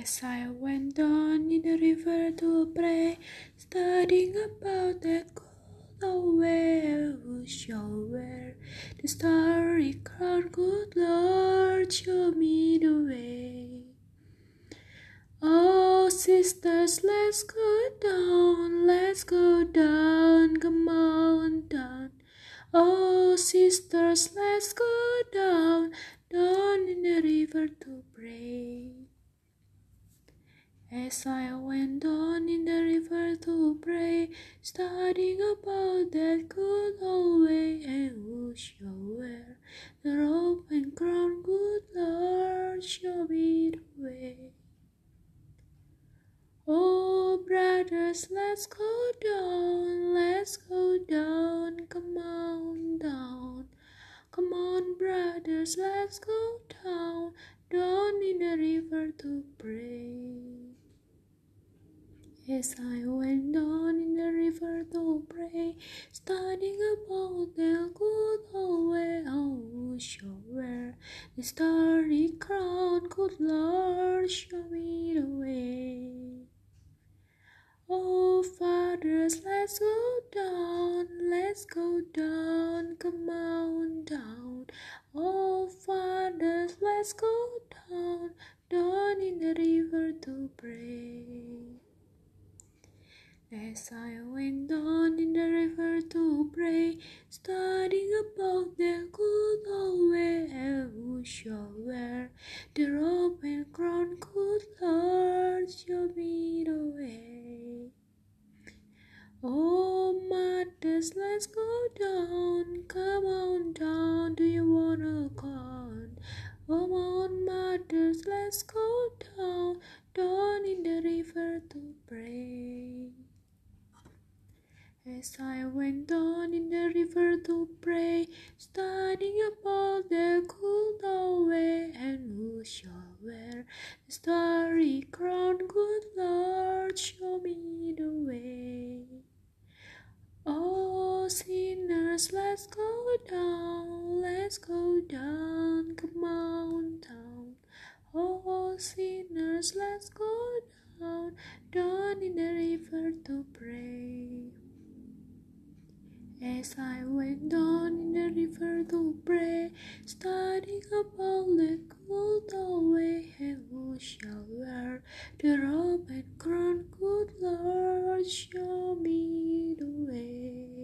As I went down in the river to pray, studying about that cold way, who shall wear the starry crown? Good Lord, show me the way. Oh, sisters, let's go down, come on down. Oh, sisters, let's go down in the river to pray. As I went down in the river to pray, studying about that good old way, and who shall wear the robe and crown? Good Lord, show me the way. Oh, brothers, let's go down, come on down. Come on, brothers, let's go down in the river to pray. As I went down in the river to pray, studying about the good old way, who shall wear the starry crown? Good Lord, show me the way. Oh, fathers, let's go down, come on down. Oh, fathers, let's go down in the river to pray. As I went down in the river to pray, studying about the good old way, who shall wear the robe and crown? Good Lord, show me the way. Oh, mothers, let's go down, come on down, do you wanna come? Come on, mothers, let's go down in the river to pray. As I went down in the river to pray, studying about the good old way, and who shall wear the starry crown? Good Lord, show me the way. Oh, sinners, let's go down, come on down. Oh, sinners, let's go down in the river to pray. As I went down in the river to pray, studying about the good old way, and who shall wear the robe and crown? Good Lord, show me the way.